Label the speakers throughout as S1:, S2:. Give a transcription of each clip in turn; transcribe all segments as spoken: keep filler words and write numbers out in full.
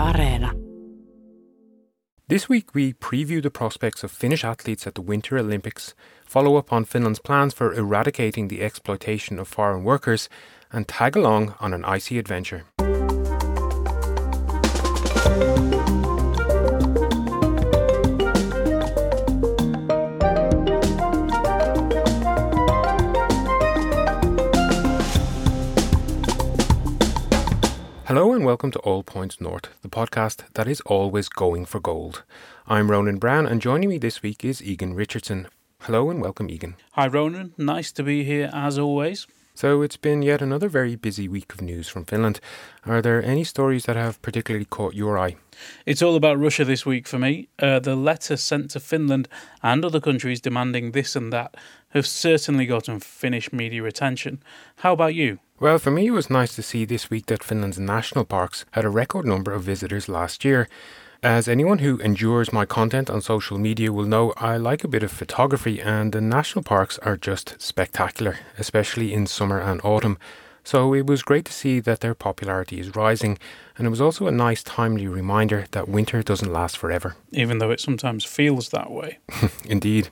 S1: Areena.
S2: This week we preview the prospects of Finnish athletes at the Winter Olympics, follow up on Finland's plans for eradicating the exploitation of foreign workers, and tag along on an icy adventure. Hello and welcome to All Points North, the podcast that is always going for gold. I'm Ronan Brown and joining me this week is Egan Richardson. Hello and welcome, Egan.
S3: Hi Ronan, nice to be here as always.
S2: So it's been yet another very busy week of news from Finland. Are there any stories that have particularly caught your eye?
S3: It's all about Russia this week for me. Uh, the letter sent to Finland and other countries demanding this and that have certainly gotten Finnish media attention. How about you?
S2: Well, for me it was nice to see this week that Finland's national parks had a record number of visitors last year. As anyone who endures my content on social media will know, I like a bit of photography and the national parks are just spectacular, especially in summer and autumn. So it was great to see that their popularity is rising, and it was also a nice timely reminder that winter doesn't last forever.
S3: Even though it sometimes feels that way.
S2: Indeed.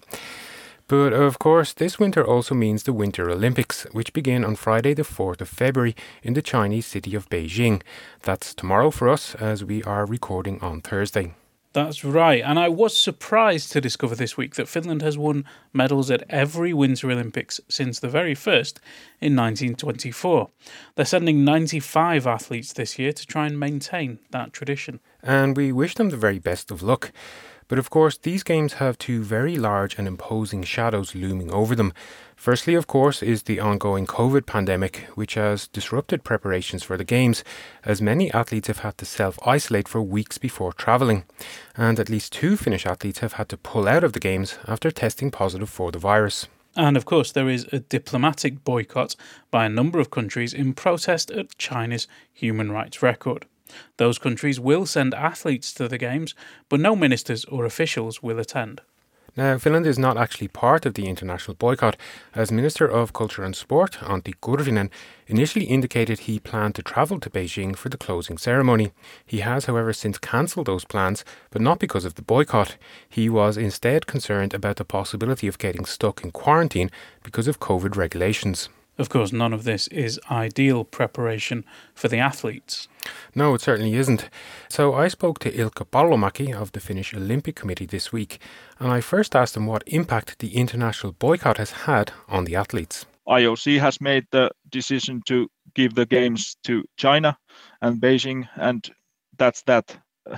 S2: But of course, this winter also means the Winter Olympics, which begin on Friday the fourth of February in the Chinese city of Beijing. That's tomorrow for us, as we are recording on Thursday.
S3: That's right, and I was surprised to discover this week that Finland has won medals at every Winter Olympics since the very first in nineteen twenty-four. They're sending ninety-five athletes this year to try and maintain that tradition.
S2: And we wish them the very best of luck. But of course, these games have two very large and imposing shadows looming over them. Firstly, of course, is the ongoing COVID pandemic, which has disrupted preparations for the games, as many athletes have had to self-isolate for weeks before travelling. And at least two Finnish athletes have had to pull out of the games after testing positive for the virus.
S3: And of course, there is a diplomatic boycott by a number of countries in protest at China's human rights record. Those countries will send athletes to the games, but no ministers or officials will attend.
S2: Now, Finland is not actually part of the international boycott, as Minister of Culture and Sport, Antti Kurvinen, initially indicated he planned to travel to Beijing for the closing ceremony. He has, however, since cancelled those plans, but not because of the boycott. He was instead concerned about the possibility of getting stuck in quarantine because of COVID regulations.
S3: Of course, none of this is ideal preparation for the athletes.
S2: No, it certainly isn't. So I spoke to Ilkka Pallomäki of the Finnish Olympic Committee this week, and I first asked him what impact the international boycott has had on the athletes.
S4: I O C has made the decision to give the games to China and Beijing, and that's that.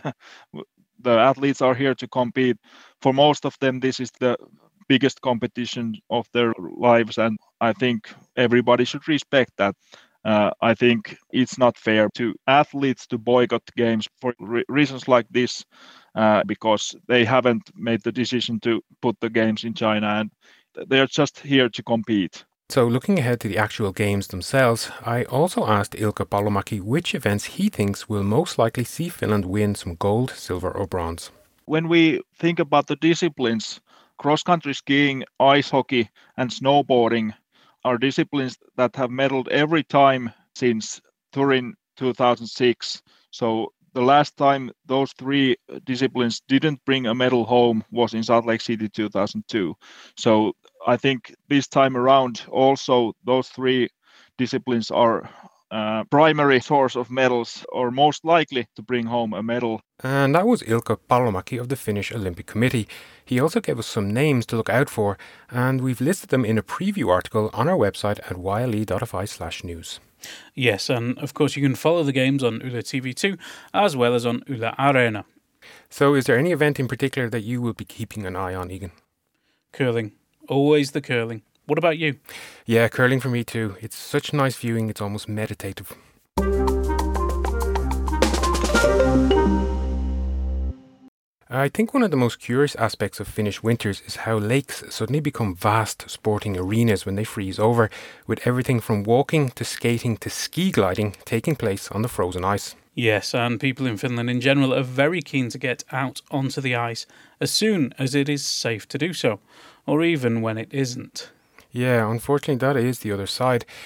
S4: The athletes are here to compete. For most of them, this is the biggest competition of their lives, and I think everybody should respect that. Uh, I think it's not fair to athletes to boycott games for re- reasons like this, uh, because they haven't made the decision to put the games in China, and they're just here to compete.
S2: So looking ahead to the actual games themselves, I also asked Ilkka Pallomäki which events he thinks will most likely see Finland win some gold, silver or bronze.
S4: When we think about the disciplines, cross-country skiing, ice hockey and snowboarding are disciplines that have medaled every time since Turin two thousand six. So the last time those three disciplines didn't bring a medal home was in Salt Lake City two thousand two. So I think this time around also those three disciplines are uh, primary source of medals, or most likely to bring home a medal.
S2: And that was Ilkka Pallomäki of the Finnish Olympic Committee. He also gave us some names to look out for, and we've listed them in a preview article on our website at yle.fi slash news.
S3: Yes, and of course you can follow the games on Yle T V two as well as on Yle Areena.
S2: So is there any event in particular that you will be keeping an eye on, Egan?
S3: Curling. Always the curling. What about you?
S2: Yeah, curling for me too. It's such nice viewing, it's almost meditative. I think one of the most curious aspects of Finnish winters is how lakes suddenly become vast sporting arenas when they freeze over, with everything from walking to skating to ski gliding taking place on the frozen ice.
S3: Yes, and people in Finland in general are very keen to get out onto the ice as soon as it is safe to do so, or even when it isn't.
S2: Yeah, unfortunately that is the other side.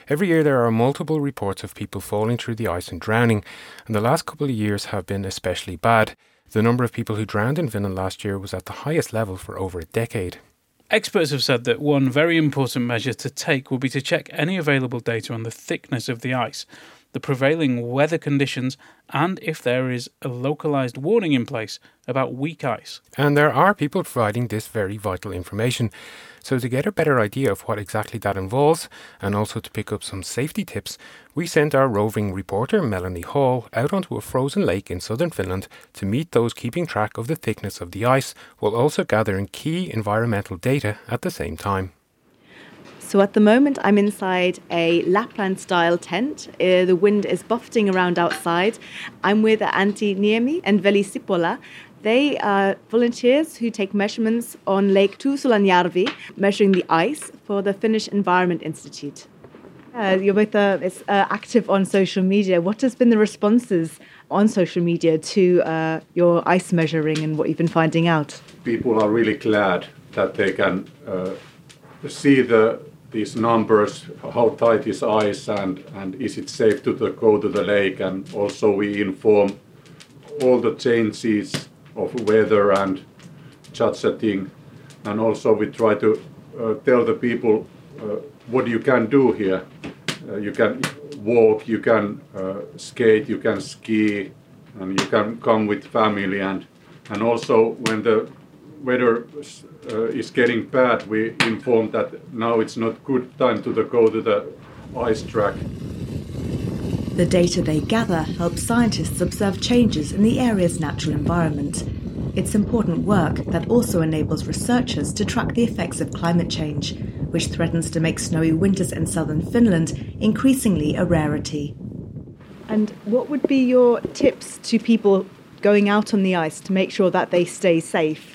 S2: Every year there are multiple reports of people falling through the ice and drowning, and the last couple of years have been especially bad. The number of people who drowned in Finland last year was at the highest level for over a decade.
S3: Experts have said that one very important measure to take will be to check any available data on the thickness of the ice, the prevailing weather conditions, and if there is a localised warning in place about weak ice.
S2: And there are people providing this very vital information. So to get a better idea of what exactly that involves, and also to pick up some safety tips, we sent our roving reporter Melanie Hall out onto a frozen lake in southern Finland to meet those keeping track of the thickness of the ice, while also gathering key environmental data at the same time.
S1: So at the moment I'm inside a Lapland-style tent. Uh, the wind is buffeting around outside. I'm with Antti Niemi and Veli Sipola. They are volunteers who take measurements on Lake Tuusulanjärvi, measuring the ice for the Finnish Environment Institute. Uh, you're both uh, it's, uh, active on social media. What has been the responses on social media to uh, your ice measuring and what you've been finding out?
S5: People are really glad that they can uh, see the these numbers, how tight is ice and, and is it safe to the, go to the lake, and also we inform all the changes of weather and chat-setting, and also we try to uh, tell the people uh, what you can do here. Uh, you can walk, you can uh, skate, you can ski, and you can come with family, and and also when the weather uh, is getting bad, we inform that now it's not good time to the, go to the ice track.
S1: The data they gather helps scientists observe changes in the area's natural environment. It's important work that also enables researchers to track the effects of climate change, which threatens to make snowy winters in southern Finland increasingly a rarity. And what would be your tips to people going out on the ice to make sure that they stay safe?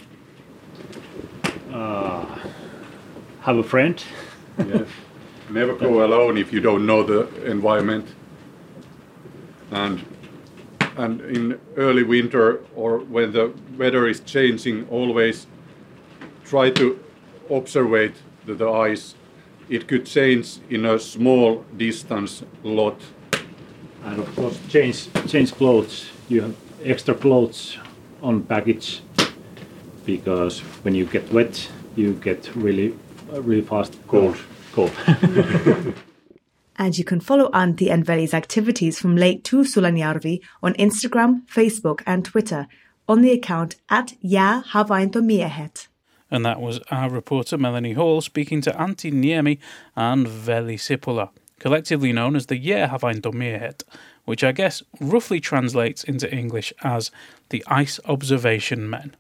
S6: Uh, have a friend.
S5: Yes. Never go alone if you don't know the environment. And and in early winter or when the weather is changing, always try to observe the, the ice. It could change in a small distance a lot.
S6: And of course change change clothes. You have extra clothes on package, because when you get wet you get really really fast cold. cold.
S1: And you can follow Antti and Veli's activities from Lake Tuusulanjärvi on Instagram, Facebook and Twitter on the account at Jäähavaintomiehet.
S3: And that was our reporter Melanie Hall speaking to Antti Niemi and Veli Sipola, collectively known as the Jäähavaintomiehet, which I guess roughly translates into English as the Ice Observation Men.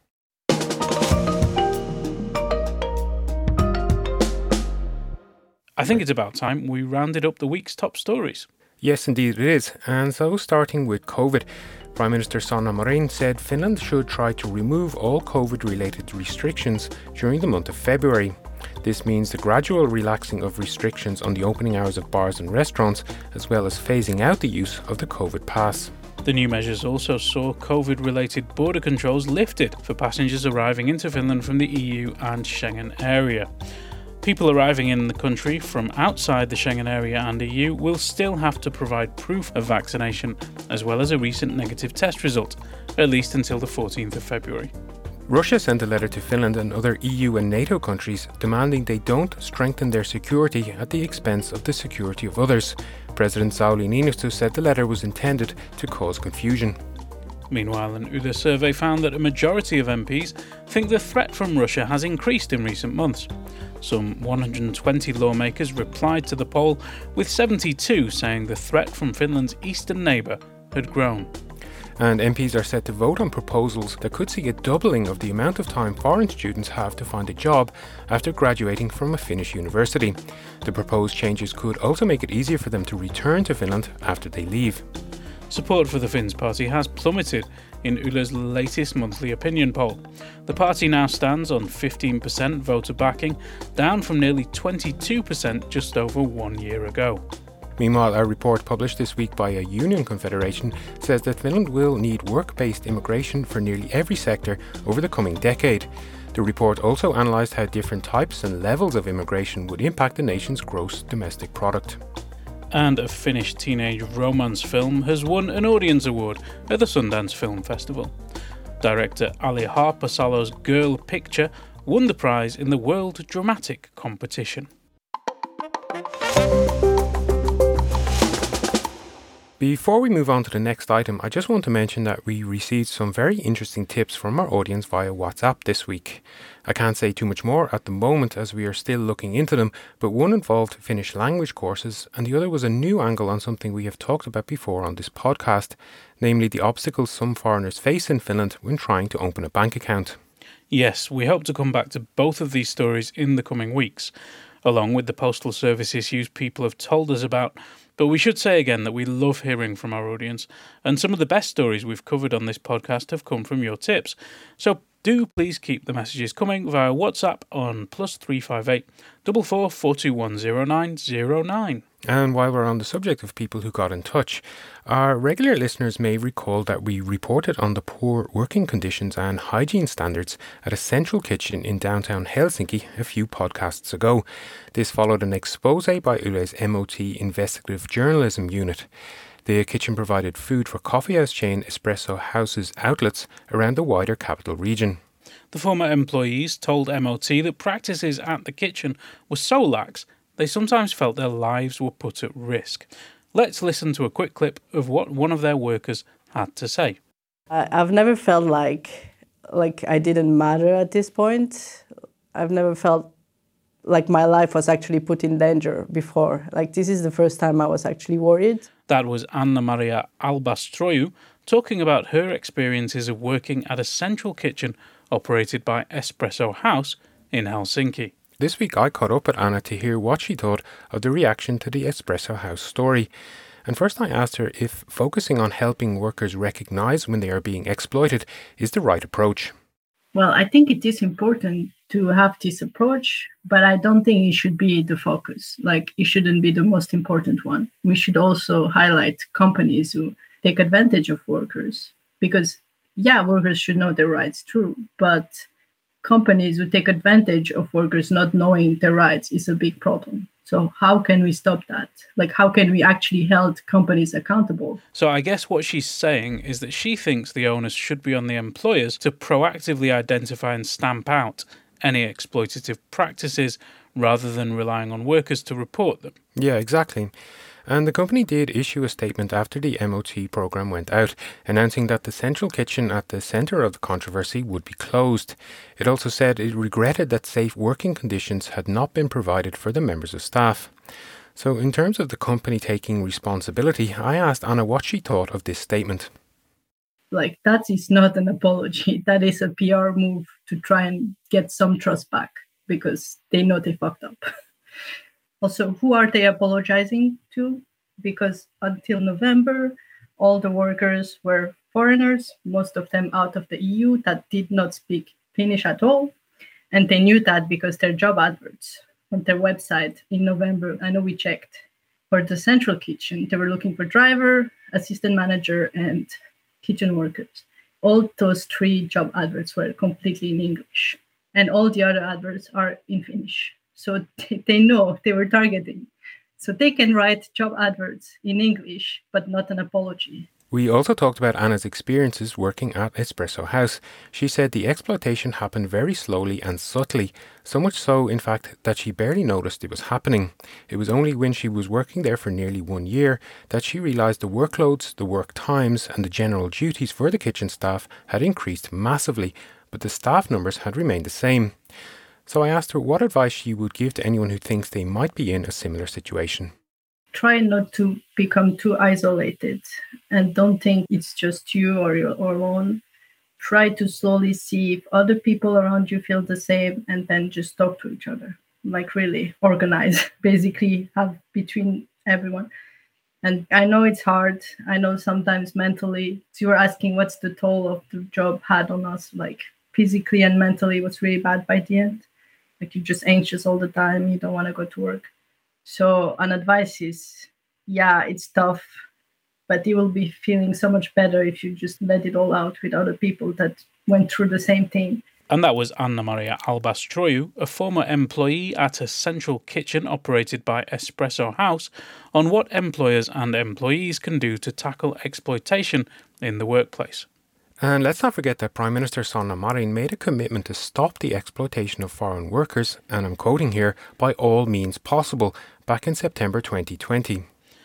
S3: I think it's about time we rounded up the week's top stories.
S2: Yes, indeed it is. And so, starting with COVID, Prime Minister Sanna Marin said Finland should try to remove all COVID-related restrictions during the month of February. This means the gradual relaxing of restrictions on the opening hours of bars and restaurants, as well as phasing out the use of the COVID pass.
S3: The new measures also saw COVID-related border controls lifted for passengers arriving into Finland from the E U and Schengen area. People arriving in the country from outside the Schengen area and E U will still have to provide proof of vaccination, as well as a recent negative test result, at least until the fourteenth of February.
S2: Russia sent a letter to Finland and other E U and NATO countries demanding they don't strengthen their security at the expense of the security of others. President Sauli Niinistö said the letter was intended to cause confusion.
S3: Meanwhile, an Yle survey found that a majority of M Ps think the threat from Russia has increased in recent months. Some one hundred twenty lawmakers replied to the poll, with seventy-two saying the threat from Finland's eastern neighbour had grown.
S2: And M Ps are set to vote on proposals that could see a doubling of the amount of time foreign students have to find a job after graduating from a Finnish university. The proposed changes could also make it easier for them to return to Finland after they leave.
S3: Support for the Finns party has plummeted in Yle's latest monthly opinion poll. The party now stands on fifteen percent voter backing, down from nearly twenty-two percent just over one year ago.
S2: Meanwhile, a report published this week by a union confederation says that Finland will need work-based immigration for nearly every sector over the coming decade. The report also analysed how different types and levels of immigration would impact the nation's gross domestic product.
S3: and a Finnish teenage romance film has won an audience award at the Sundance Film Festival. Director Ali Harpasalo's Girl Picture won the prize in the World Dramatic Competition.
S2: Before we move on to the next item, I just want to mention that we received some very interesting tips from our audience via WhatsApp this week. I can't say too much more at the moment as we are still looking into them, but one involved Finnish language courses and the other was a new angle on something we have talked about before on this podcast, namely the obstacles some foreigners face in Finland when trying to open a bank account.
S3: Yes, we hope to come back to both of these stories in the coming weeks, along with the postal service issues people have told us about. But we should say again that we love hearing from our audience, and some of the best stories we've covered on this podcast have come from your tips. So do please keep the messages coming via WhatsApp on plus three five eight four four four two one zero nine zero nine.
S2: And while we're on the subject of people who got in touch, our regular listeners may recall that we reported on the poor working conditions and hygiene standards at a central kitchen in downtown Helsinki a few podcasts ago. This followed an expose by Yle's M O T Investigative Journalism Unit. The kitchen provided food for coffeehouse chain Espresso House's outlets around the wider capital region.
S3: The former employees told M O T that practices at the kitchen were so lax they sometimes felt their lives were put at risk. Let's listen to a quick clip of what one of their workers had to say.
S7: I've never felt like like I didn't matter at this point. I've never felt like my life was actually put in danger before. Like this is the first time I was actually worried.
S3: That was Anna-Maria Albastroiu talking about her experiences of working at a central kitchen operated by Espresso House in Helsinki.
S2: This week I caught up with Anna to hear what she thought of the reaction to the Espresso House story. And first I asked her if focusing on helping workers recognise when they are being exploited is the right approach.
S8: Well, I think it is important to have this approach, but I don't think it should be the focus. Like, it shouldn't be the most important one. We should also highlight companies who take advantage of workers because, yeah, workers should know their rights, true, but companies who take advantage of workers not knowing their rights is a big problem. So how can we stop that? Like, how can we actually hold companies accountable?
S3: So I guess what she's saying is that she thinks the onus should be on the employers to proactively identify and stamp out any exploitative practices rather than relying on workers to report them.
S2: Yeah, exactly. And the company did issue a statement after the M O T programme went out, announcing that the central kitchen at the centre of the controversy would be closed. It also said it regretted that safe working conditions had not been provided for the members of staff. So in terms of the company taking responsibility, I asked Anna what she thought of this statement.
S8: Like, that is not an apology. That is a P R move to try and get some trust back because they know they fucked up. Also, who are they apologizing to? Because until November, all the workers were foreigners, most of them out of the E U that did not speak Finnish at all. And they knew that because their job adverts on their website in November, I know we checked, for the central kitchen, they were looking for driver, assistant manager, and kitchen workers. All those three job adverts were completely in English. And all the other adverts are in Finnish. So they know they were targeting. So they can write job adverts in English, but not an apology.
S2: We also talked about Anna's experiences working at Espresso House. She said the exploitation happened very slowly and subtly, so much so, in fact, that she barely noticed it was happening. It was only when she was working there for nearly one year that she realised the workloads, the work times and the general duties for the kitchen staff had increased massively, but the staff numbers had remained the same. So I asked her what advice she would give to anyone who thinks they might be in a similar situation.
S8: Try not to become too isolated and don't think it's just you or your alone. Try to slowly see if other people around you feel the same and then just talk to each other. Like, really organize, basically have between everyone. And I know it's hard. I know sometimes mentally, so you were asking what's the toll of the job had on us, like physically and mentally, it was really bad by the end. Like, you're just anxious all the time. You don't want to go to work. So an advice is, yeah, it's tough, but you will be feeling so much better if you just let it all out with other people that went through the same thing.
S3: And that was Anna-Maria Albastroiu, a former employee at a central kitchen operated by Espresso House, on what employers and employees can do to tackle exploitation in the workplace.
S2: And let's not forget that Prime Minister Sanna Marin made a commitment to stop the exploitation of foreign workers, and I'm quoting here, by all means possible, back in September twenty twenty.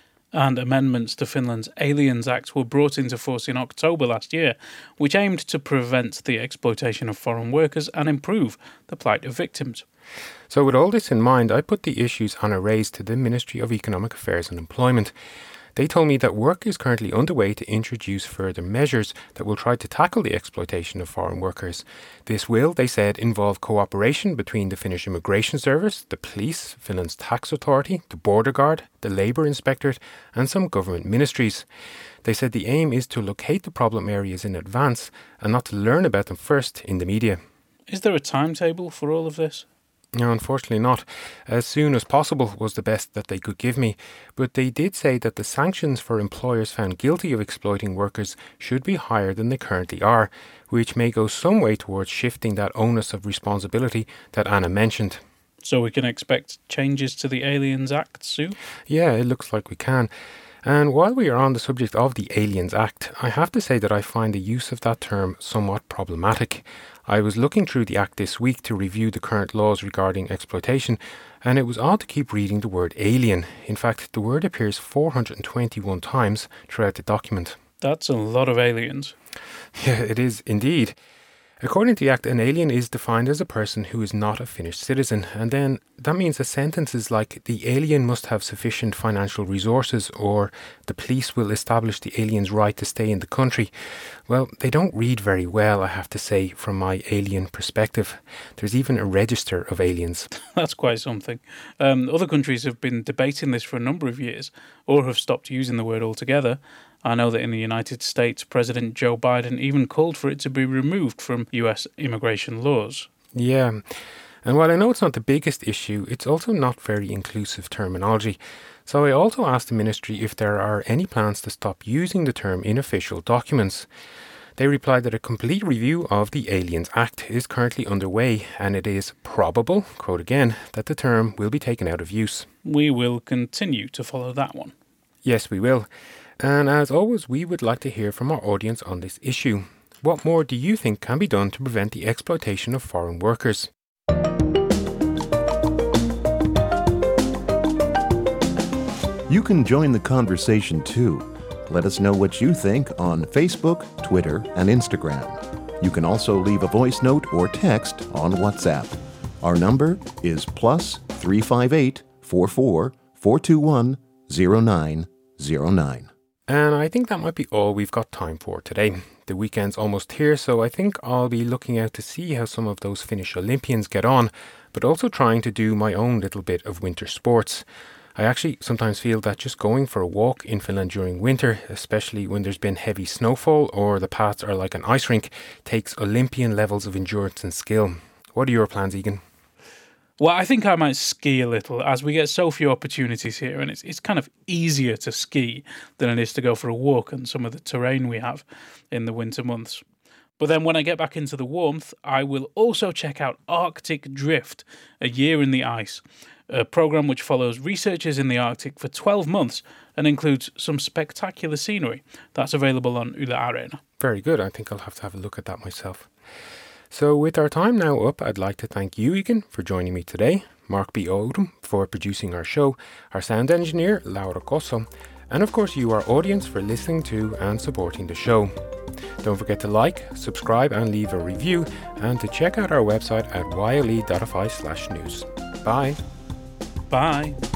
S3: And amendments to Finland's Aliens Act were brought into force in October last year, which aimed to prevent the exploitation of foreign workers and improve the plight of victims.
S2: So with all this in mind, I put the issues Anna raised to the Ministry of Economic Affairs and Employment. They told me that work is currently underway to introduce further measures that will try to tackle the exploitation of foreign workers. This will, they said, involve cooperation between the Finnish Immigration Service, the police, Finland's tax authority, the border guard, the labour inspectorate and some government ministries. They said the aim is to locate the problem areas in advance and not to learn about them first in the media.
S3: Is there a timetable for all of this?
S2: No, unfortunately not. As soon as possible was the best that they could give me, but they did say that the sanctions for employers found guilty of exploiting workers should be higher than they currently are, which may go some way towards shifting that onus of responsibility that Anna mentioned.
S3: So we can expect changes to the Aliens Act soon?
S2: Yeah, it looks like we can. And while we are on the subject of the Aliens Act, I have to say that I find the use of that term somewhat problematic. I was looking through the Act this week to review the current laws regarding exploitation, and it was odd to keep reading the word alien. In fact, the word appears four hundred twenty-one times throughout the document.
S3: That's a lot of aliens.
S2: Yeah, it is indeed. According to the Act, an alien is defined as a person who is not a Finnish citizen, and then that means a sentences like the alien must have sufficient financial resources or the police will establish the alien's right to stay in the country. Well, they don't read very well, I have to say, from my alien perspective. There's even a register of aliens.
S3: That's quite something. Um, other countries have been debating this for a number of years or have stopped using the word altogether. I know that in the United States, President Joe Biden even called for it to be removed from U S immigration laws.
S2: Yeah, and while I know it's not the biggest issue, it's also not very inclusive terminology. So I also asked the ministry if there are any plans to stop using the term in official documents. They replied that a complete review of the Aliens Act is currently underway and it is probable, quote again, that the term will be taken out of use.
S3: We will continue to follow that one.
S2: Yes, we will. And as always, we would like to hear from our audience on this issue. What more do you think can be done to prevent the exploitation of foreign workers?
S9: You can join the conversation too. Let us know what you think on Facebook, Twitter, and Instagram. You can also leave a voice note or text on WhatsApp. Our number is plus three five eight, four four, four two one, zero nine zero nine.
S2: And I think that might be all we've got time for today. The weekend's almost here, so I think I'll be looking out to see how some of those Finnish Olympians get on, but also trying to do my own little bit of winter sports. I actually sometimes feel that just going for a walk in Finland during winter, especially when there's been heavy snowfall or the paths are like an ice rink, takes Olympian levels of endurance and skill. What are your plans, Egan?
S3: Well, I think I might ski a little as we get so few opportunities here and it's it's kind of easier to ski than it is to go for a walk on some of the terrain we have in the winter months. But then when I get back into the warmth, I will also check out Arctic Drift, A Year in the Ice, a programme which follows researchers in the Arctic for twelve months and includes some spectacular scenery. That's available on Yle Areena.
S2: Very good. I think I'll have to have a look at that myself. So with our time now up, I'd like to thank you, Egan, for joining me today, Mark B. Odom for producing our show, our sound engineer, Laura Cosso, and of course you, our audience, for listening to and supporting the show. Don't forget to like, subscribe and leave a review, and to check out our website at yle dot f i slash news. Bye.
S3: Bye.